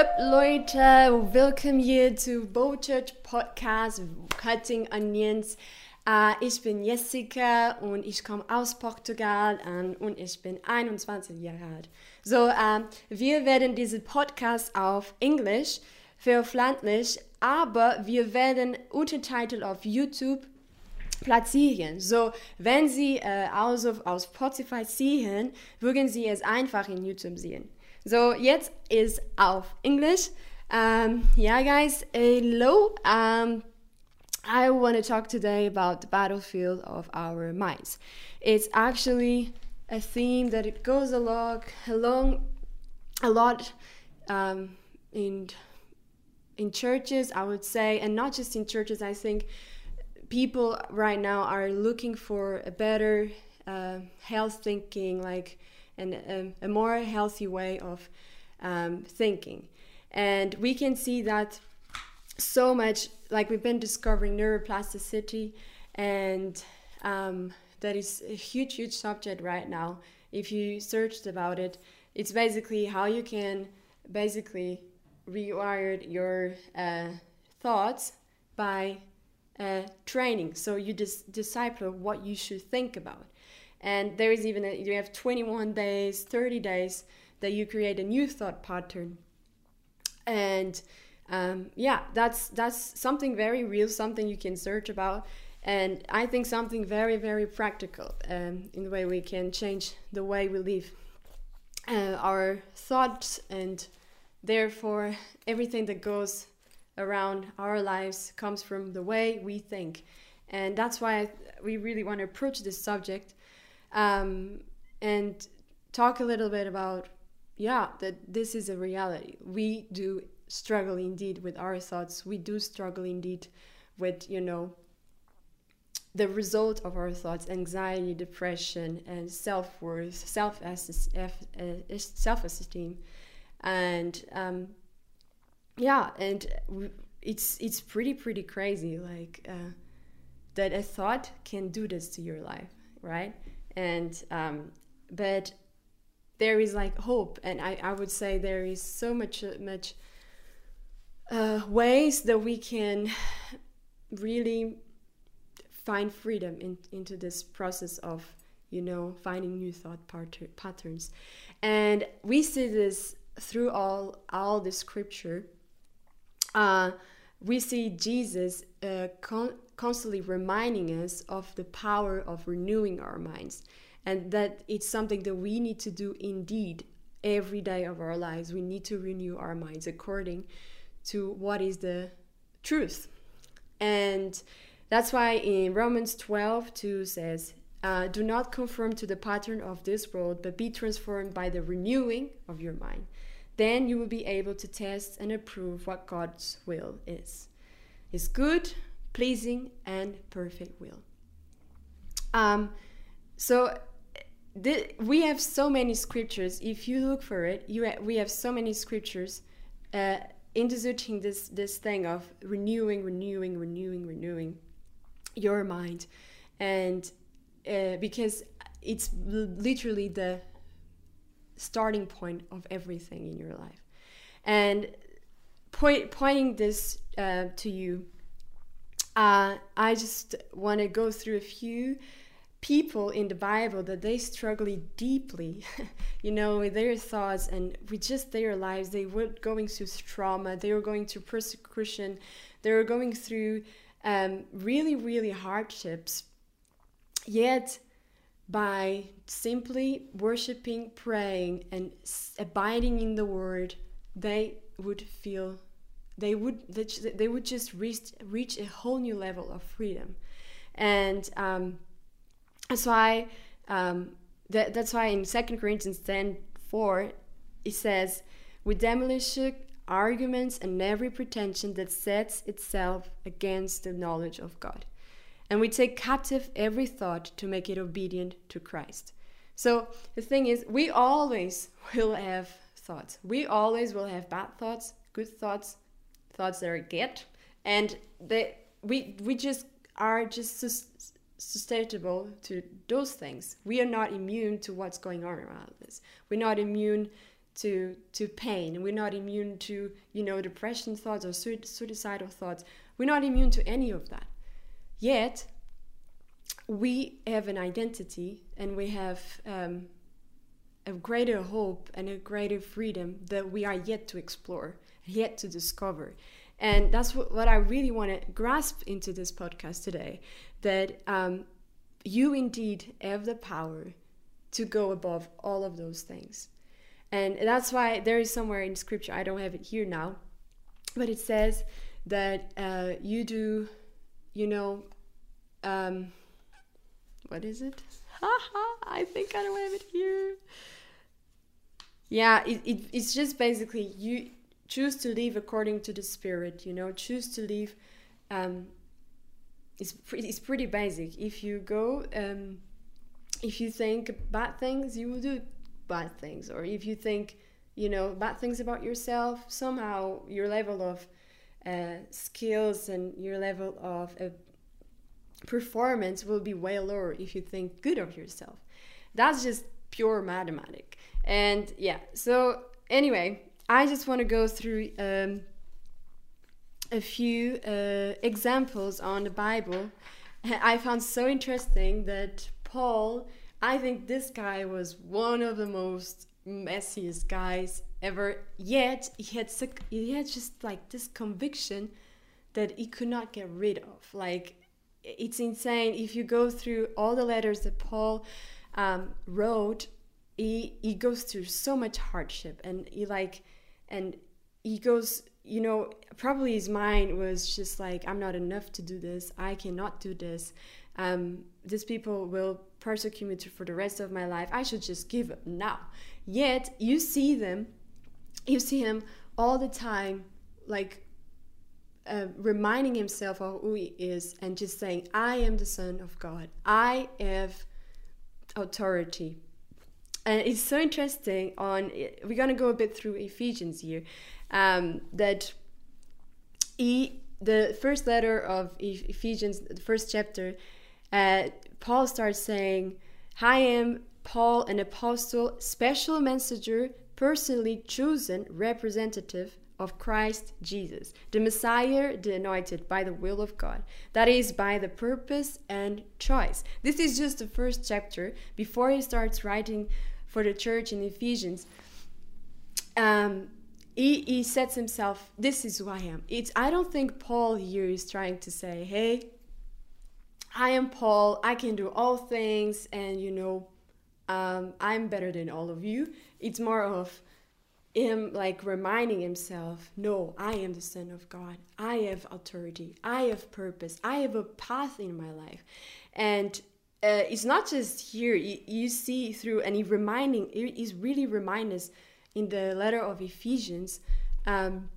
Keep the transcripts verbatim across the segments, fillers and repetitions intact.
Leute, willkommen hier zu Bo Church Podcast Cutting Onions. Uh, ich bin Jessica und ich komme aus Portugal um, und ich bin einundzwanzig Jahre alt. So, um, wir werden diesen Podcast auf Englisch veröffentlichen, aber wir werden Untertitel auf YouTube platzieren. So, wenn Sie äh, also auf Spotify sehen, würden Sie es einfach in YouTube sehen. So, jetzt ist auf Englisch. Um, yeah, guys, hello. Um, I want to talk today about the battlefield of our minds. It's actually a theme that it goes along, along a lot um, in in churches, I would say, and not just in churches. I think people right now are looking for a better uh, health thinking, like and a, a more healthy way of um, thinking. And we can see that so much, like we've been discovering neuroplasticity, and um, that is a huge, huge subject right now. If you searched about it, it's basically how you can basically rewire your uh, thoughts by uh, training. So you just disciple what you should think about. And there is even, a, you have twenty-one days, thirty days that you create a new thought pattern. And um, yeah, that's that's something very real, something you can search about. And I think something very, very practical um, in the way we can change the way we live uh, our thoughts, and therefore everything that goes around our lives comes from the way we think. And that's why I, we really want to approach this subject um, and talk a little bit about, yeah, that this is a reality. We do struggle indeed with our thoughts. We do struggle indeed with, you know, the result of our thoughts: anxiety, depression, and self-worth, self-esteem. And um, yeah, and it's it's pretty, pretty crazy, like uh, that a thought can do this to your life, right? And um, but there is like hope, and I, I would say there is so much much uh, ways that we can really find freedom in, into this process of, you know, finding new thought patter- patterns. And we see this through all all the scripture. Uh, we see Jesus uh, con- constantly reminding us of the power of renewing our minds, and that it's something that we need to do indeed every day of our lives. We need to renew our minds according to what is the truth. And that's why in Romans twelve two says, uh, do not conform to the pattern of this world, but be transformed by the renewing of your mind. Then you will be able to test and approve what God's will is. His good, pleasing, and perfect will. Um, so th- we have so many scriptures. If you look for it, you ha- we have so many scriptures uh, introducing this this thing of renewing, renewing, renewing, renewing your mind, and uh, because it's l- literally the starting point of everything in your life. And point, pointing this uh, to you, uh, I just want to go through a few people in the Bible that they struggle deeply, you know, with their thoughts and with just their lives. They were going through trauma, they were going through persecution, they were going through um, really, really hardships, yet by simply worshiping, praying, and abiding in the word, they would feel, they would they would just reach reach a whole new level of freedom. And um, that's why um, that, that's why in Second Corinthians ten four it says, we demolish arguments and every pretension that sets itself against the knowledge of God. And we take captive every thought to make it obedient to Christ. So the thing is, we always will have thoughts. We always will have bad thoughts, good thoughts, thoughts that are good. And they, we we just are just sus- susceptible to those things. We are not immune to what's going on around us. We're not immune to to pain. We're not immune to, you know, depression thoughts or suicidal thoughts. We're not immune to any of that. Yet, we have an identity, and we have um, a greater hope and a greater freedom that we are yet to explore, yet to discover. And that's what, what I really want to grasp into this podcast today, that um, you indeed have the power to go above all of those things. And that's why there is somewhere in scripture, I don't have it here now, but it says that uh, you do, you know, um, what is it? I think I don't have it here. Yeah, it, it it's just basically you choose to live according to the Spirit, you know, choose to live. Um, it's, pretty, it's pretty basic. If you go, um, if you think bad things, you will do bad things. Or if you think, you know, bad things about yourself, somehow your level of uh, skills and your level of uh, performance will be way lower if you think good of yourself. That's just pure mathematics. And yeah, so anyway, I just want to go through um, a few uh, examples on the Bible. I found so interesting that Paul, I think this guy was one of the most messiest guys ever, yet he had, he had just like this conviction that he could not get rid of. Like, it's insane. If you go through all the letters that Paul um, wrote, he he goes through so much hardship, and he like, and he goes, you know, probably his mind was just like, I'm not enough to do this. I cannot do this. Um, these people will persecute me for the rest of my life. I should just give up now. Yet you see them, you see him all the time, like uh, reminding himself of who he is and just saying, I am the Son of God. I have authority. And it's so interesting. On we're going to go a bit through Ephesians here. Um, that he, the first letter of Ephesians, the first chapter, uh, Paul starts saying, I am Paul, an apostle, special messenger, personally chosen representative of Christ Jesus, the Messiah, the anointed by the will of God. That is, by the purpose and choice. This is just the first chapter before he starts writing for the church in Ephesians. Um, he, he sets himself, this is who I am. It's, I don't think Paul here is trying to say, hey, I am Paul, I can do all things, and you know, um, I'm better than all of you. It's more of him like reminding himself, no, I am the Son of God. I have authority. I have purpose. I have a path in my life. And uh, it's not just here. You, you see through, and he reminding, he's really reminding us in the letter of Ephesians um,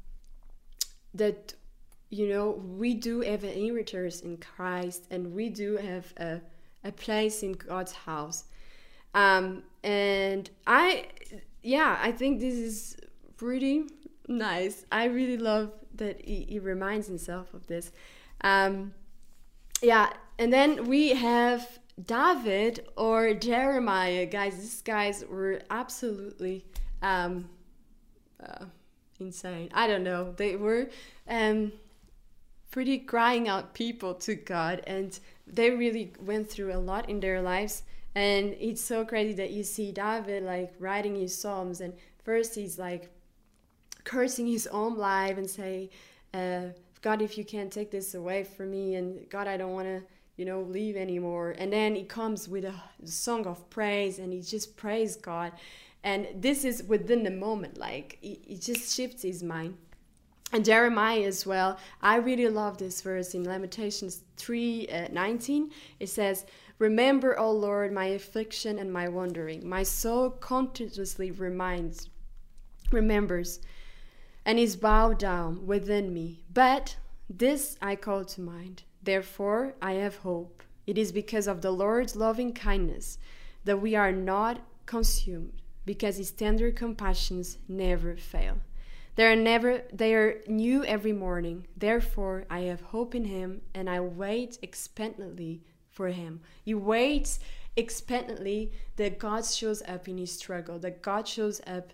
that, you know, we do have an inheritance in Christ, and we do have a, a place in God's house. Um, and I, yeah, I think this is pretty nice. I really love that he, he reminds himself of this. Um, yeah, and then we have David or Jeremiah. Guys, these guys were absolutely um, uh, insane. I don't know. They were um, pretty crying out people to God, and they really went through a lot in their lives. And it's so crazy that you see David like writing his psalms, and first he's like cursing his own life and say, uh, God, if you can't take this away from me, and God, I don't want to, you know, leave anymore. And then he comes with a song of praise, and he just praise God. And this is within the moment, like he, he just shifts his mind. And Jeremiah as well. I really love this verse in Lamentations three nineteen. It says, remember, O Lord, my affliction and my wandering. My soul continuously reminds, remembers, and is bowed down within me. But this I call to mind. Therefore I have hope. It is because of the Lord's loving kindness that we are not consumed, because his tender compassions never fail. They are never they are new every morning. Therefore I have hope in him, and I wait expectantly for him. He waits expectantly that God shows up in his struggle, that God shows up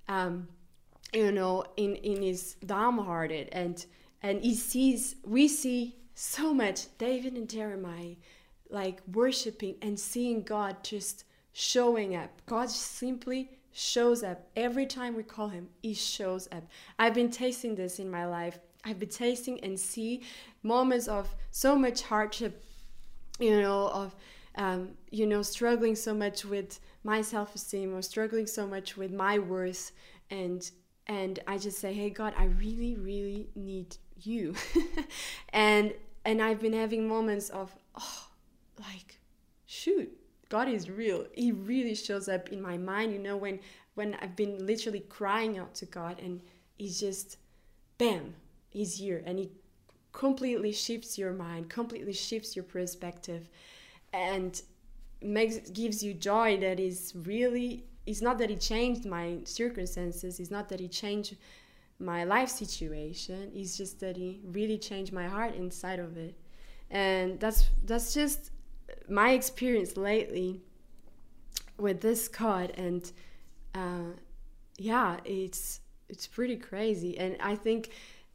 um, you know, in, in his downhearted, and and he sees, we see so much David and Jeremiah like worshiping and seeing God just showing up. God simply shows up every time we call him. He shows up. I've been tasting this in my life. I've been tasting and see moments of so much hardship, you know, of um, you know, struggling so much with my self-esteem, or struggling so much with my worth, and and I just say, hey God, I really, really need you. and and I've been having moments of, oh, like, shoot, God is real. He really shows up in my mind, you know, when when I've been literally crying out to God, and he's just, bam, he's here, and he completely shifts your mind, completely shifts your perspective, and makes gives you joy that is really, it's not that he changed my circumstances, it's not that he changed my life situation, it's just that he really changed my heart inside of it. And that's that's just my experience lately with this God. And uh, yeah, it's it's pretty crazy. And I think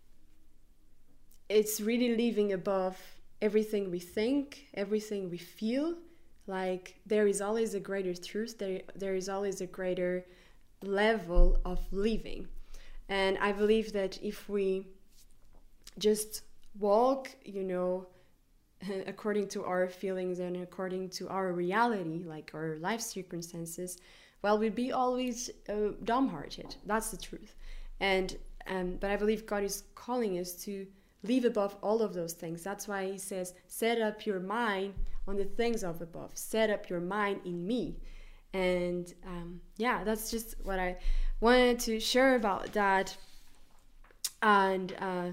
it's really living above everything we think, everything we feel. Like, there is always a greater truth, there there is always a greater level of living. And I believe that if we just walk, you know, according to our feelings and according to our reality, like our life circumstances, well, we'd be always uh, dumbhearted. That's the truth. And um, but I believe God is calling us to live above all of those things. That's why he says, set up your mind on the things of above. Set up your mind in me. And um, yeah, that's just what I wanted to share about that. And uh,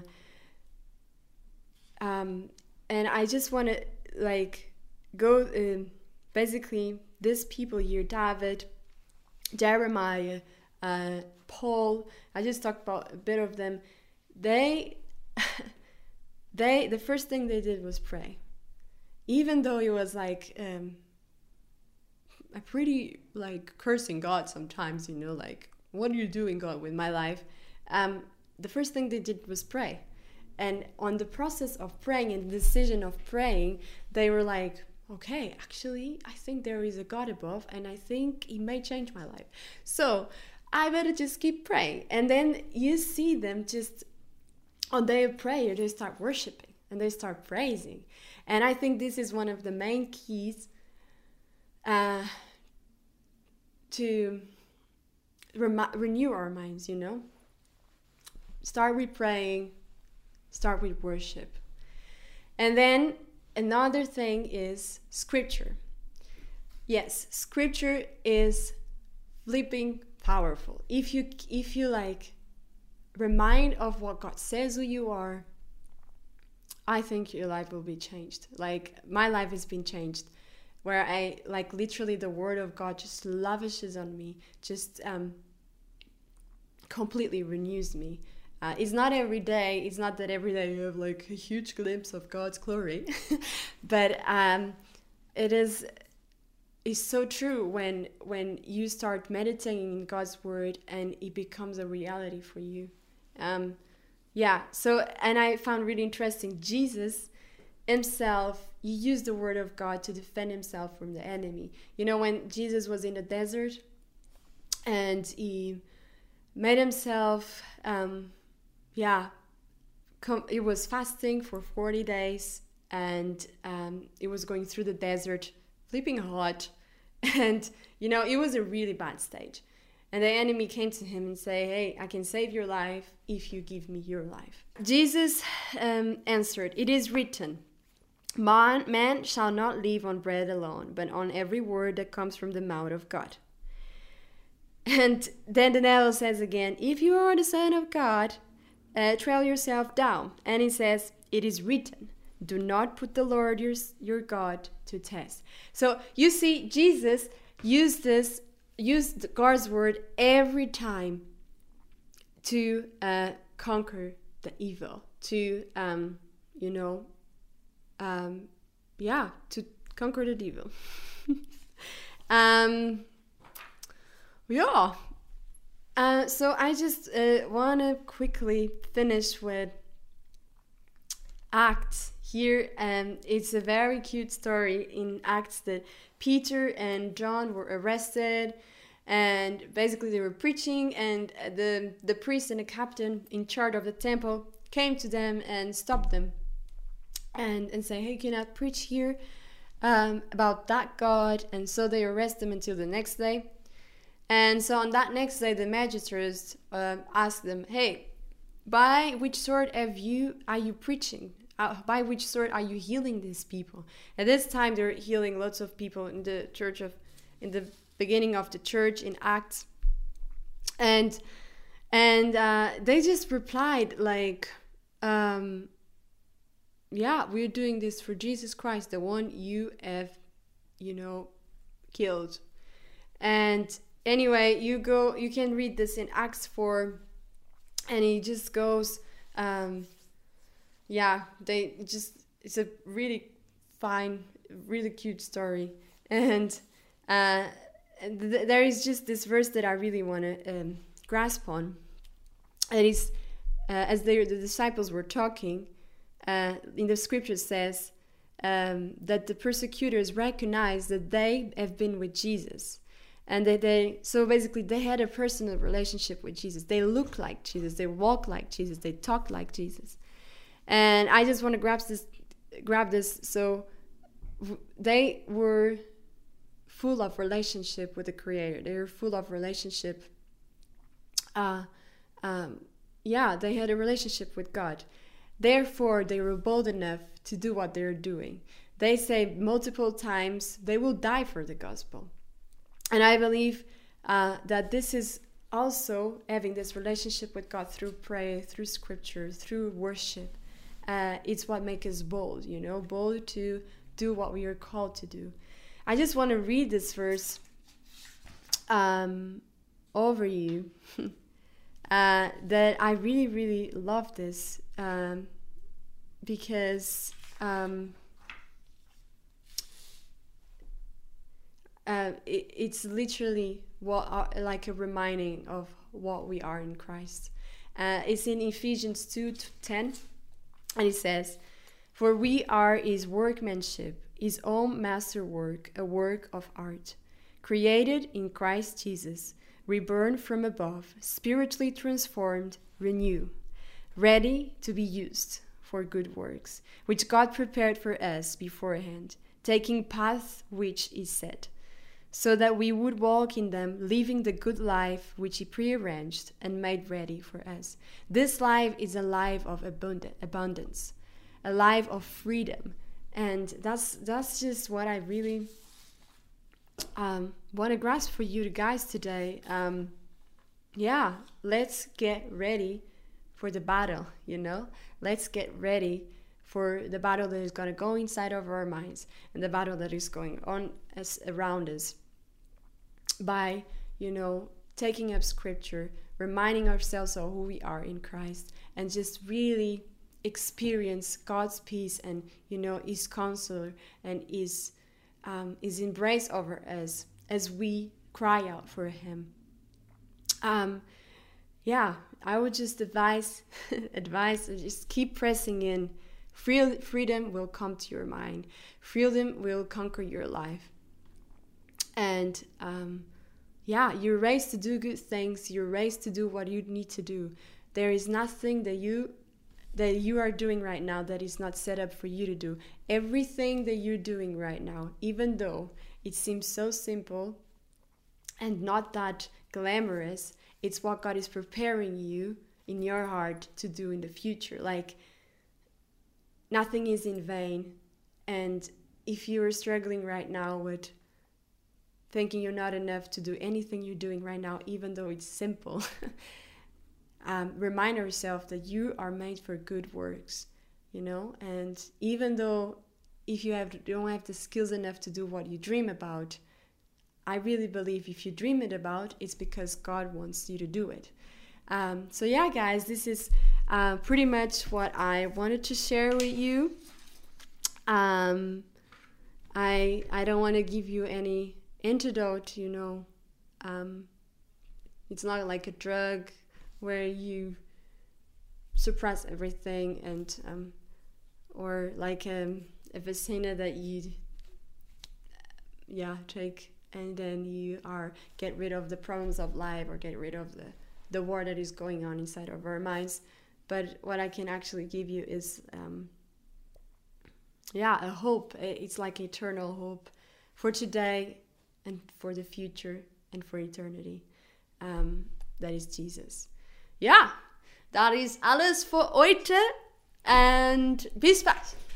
um, and I just want to like go uh, basically these people here, David, Jeremiah, uh, Paul. I just talked about a bit of them. They they the first thing they did was pray, even though it was like um, a pretty like cursing God sometimes, you know, like, what are you doing, God, with my life? Um, the first thing they did was pray. And on the process of praying and the decision of praying, they were like, okay, actually, I think there is a God above, and I think he may change my life. So I better just keep praying. And then you see them just on their prayer, they start worshiping and they start praising. And I think this is one of the main keys uh, to rem- renew our minds, you know. Start with praying, start with worship. And then another thing is scripture. Yes, scripture is flipping powerful. If you if you like remind of what God says who you are, I think your life will be changed. Like, my life has been changed, where I like literally the word of God just lavishes on me, just um completely renews me. Uh, it's not every day, it's not that every day you have like a huge glimpse of God's glory, but um, it is it's so true when when you start meditating in God's word and it becomes a reality for you. Um, yeah, so, and I found really interesting, Jesus himself, he used the word of God to defend himself from the enemy. You know, when Jesus was in the desert and he made himself... Um, yeah, com- it was fasting for forty days, and um, it was going through the desert, flipping hot, and, you know, it was a really bad stage. And the enemy came to him and say, hey, I can save your life if you give me your life. Jesus um, answered, it is written, man, man shall not live on bread alone, but on every word that comes from the mouth of God. And then the devil says again, if you are the Son of God, Uh, trail yourself down. And he says, it is written, do not put the Lord your, your God to test. So you see, Jesus used this, used God's word every time to uh, conquer the evil, to, um, you know, um, yeah, to conquer the evil. um, yeah. Uh, so I just uh, want to quickly finish with Acts here. And it's a very cute story in Acts that Peter and John were arrested, and basically they were preaching, and the the priest and the captain in charge of the temple came to them and stopped them and and say, hey, you cannot preach here um, about that God. And so they arrest them until the next day. And so on that next day, the magistrates uh, asked them, hey, by which sword have you are you preaching? Uh, by which sword are you healing these people? At this time, they're healing lots of people in the church of, in the beginning of the church in Acts, and and uh, they just replied like, um, yeah, we're doing this for Jesus Christ, the one you have, you know, killed. And anyway, you go, you can read this in Acts four, and he just goes. Um, Yeah, they just, it's a really fine, really cute story. And uh, th- there is just this verse that I really want to um, grasp on. It is, uh, as they, the disciples were talking, uh, in the scripture says um, that the persecutors recognized that they have been with Jesus. And that they, so basically they had a personal relationship with Jesus. They looked like Jesus, they walked like Jesus, they talked like Jesus. And I just want to grab this, grab this. So they were full of relationship with the Creator. They were full of relationship. Uh, um, yeah, they had a relationship with God. Therefore, they were bold enough to do what they're doing. They say multiple times they will die for the gospel. And I believe uh, that this is also having this relationship with God through prayer, through scripture, through worship. Uh, it's what makes us bold, you know, bold to do what we are called to do. I just want to read this verse um, over you. uh, that I really, really love this um, because um, uh, it, it's literally what are, like a reminding of what we are in Christ. Uh, it's in Ephesians two ten. And it says, for we are his workmanship, his own masterwork, a work of art, created in Christ Jesus, reborn from above, spiritually transformed, renew, ready to be used for good works, which God prepared for us beforehand, taking paths which he set, so that we would walk in them, living the good life which he prearranged and made ready for us. This life is a life of abundant, abundance, a life of freedom. And that's that's just what I really um, want to grasp for you guys today. Um, yeah, let's get ready for the battle, you know? Let's get ready for the battle that is going to go inside of our minds and the battle that is going on as around us by, you know, taking up scripture, reminding ourselves of who we are in Christ, and just really experience God's peace and, you know, his counselor and his, um, his embrace over us as we cry out for him. Um, yeah, I would just advise, advise, just keep pressing in. Free, freedom will come to your mind. Freedom will conquer your life. And um, yeah, you're raised to do good things. You're raised to do what you need to do. There is nothing that you that you are doing right now that is not set up for you to do. Everything that you're doing right now, even though it seems so simple and not that glamorous, it's what God is preparing you in your heart to do in the future. Like, nothing is in vain. And if you are struggling right now with thinking you're not enough to do anything you're doing right now, even though it's simple, um, remind yourself that you are made for good works, you know? And even though if you have you don't have the skills enough to do what you dream about, I really believe if you dream it about, it's because God wants you to do it. Um, so yeah, guys, this is uh, pretty much what I wanted to share with you. Um, I I don't want to give you any antidote, you know, um, It's not like a drug where you suppress everything, and um, or like um, a Vicena that you yeah take, and then you are get rid of the problems of life or get rid of the the war that is going on inside of our minds. But what I can actually give you is um, yeah a hope. It's like eternal hope for today and for the future and for eternity. Um, that is Jesus. Ja, dat is alles für heute und bis bald.